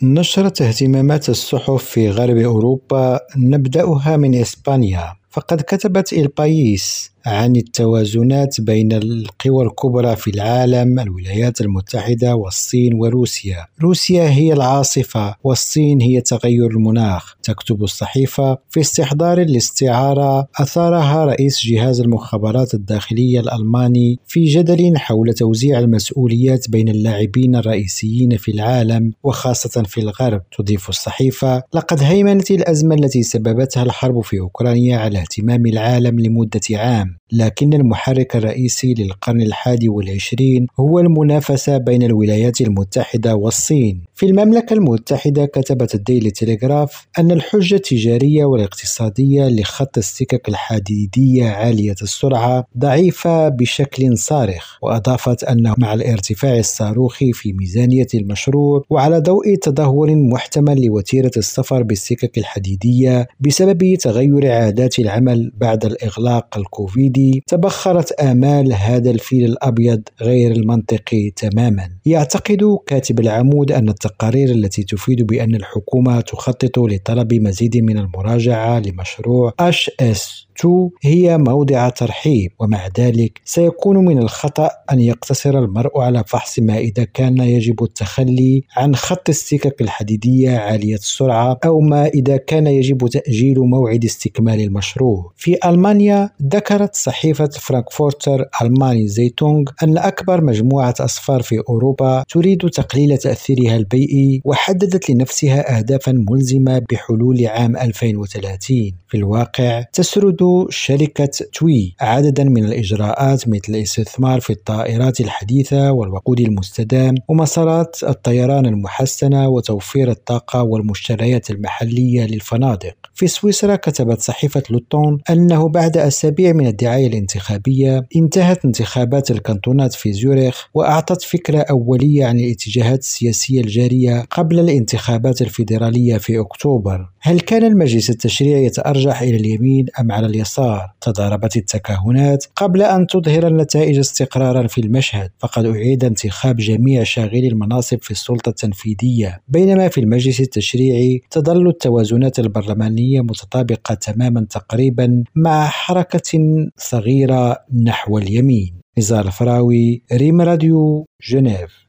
نشرت اهتمامات الصحف في غرب أوروبا، نبدأها من إسبانيا، فقد كتبت البايس عن التوازنات بين القوى الكبرى في العالم: الولايات المتحدة والصين وروسيا. روسيا هي العاصفة والصين هي تغير المناخ. تكتب الصحيفة: في استحضار الاستعارة أثارها رئيس جهاز المخابرات الداخلية الألماني في جدل حول توزيع المسؤوليات بين اللاعبين الرئيسيين في العالم وخاصة في الغرب. تضيف الصحيفة: لقد هيمنت الأزمة التي سببتها الحرب في أوكرانيا على اهتمام العالم لمدة عام، لكن المحرك الرئيسي للقرن 21 هو المنافسة بين الولايات المتحدة والصين. في المملكة المتحدة كتبت الديلي تيليغراف أن الحجة التجارية والاقتصادية لخط السكك الحديدية عالية السرعة ضعيفة بشكل صارخ، وأضافت أنه مع الارتفاع الصاروخي في ميزانية المشروع وعلى ضوء تدهور محتمل لوتيرة السفر بالسكك الحديدية بسبب تغير عادات العمل بعد الإغلاق الكوفيدي، تبخرت آمال هذا الفيل الأبيض غير المنطقي تماما. يعتقد كاتب العمود أن التقارير التي تفيد بأن الحكومة تخطط لطلب مزيد من المراجعة لمشروع HS2 هي موضع ترحيب، ومع ذلك سيكون من الخطأ أن يقتصر المرء على فحص ما إذا كان يجب التخلي عن خط السكك الحديدية عالية السرعة أو ما إذا كان يجب تأجيل موعد استكمال المشروع. في ألمانيا ذكرت صحيفة فرانكفورتر ألماني زيتونغ أن أكبر مجموعة أسفار في أوروبا تريد تقليل تأثيرها البيئي، وحددت لنفسها أهدافا ملزمة بحلول عام 2030. في الواقع تسرد شركة توي عددا من الإجراءات مثل الاستثمار في الطائرات الحديثة والوقود المستدام ومسارات الطيران المحسنة وتوفير الطاقة والمشتريات المحلية للفنادق. في سويسرا كتبت صحيفة لوتون أنه بعد أسابيع من الدعاية الانتخابية انتهت انتخابات الكانتونات في زيورخ، وأعطت فكرة أولية عن الاتجاهات السياسية الجارية قبل الانتخابات الفيدرالية في أكتوبر. هل كان المجلس التشريعي يتأرجح إلى اليمين أم على اليسار؟ تضاربت التكهنات قبل أن تظهر النتائج استقرارا في المشهد، فقد أعيد انتخاب جميع شاغلي المناصب في السلطة التنفيذية، بينما في المجلس التشريعي تظل التوازنات البرلمانية متطابقة تماما تقريبا مع حركة صغيرة نحو اليمين. نزار الفراوي، ريم راديو، جنيف.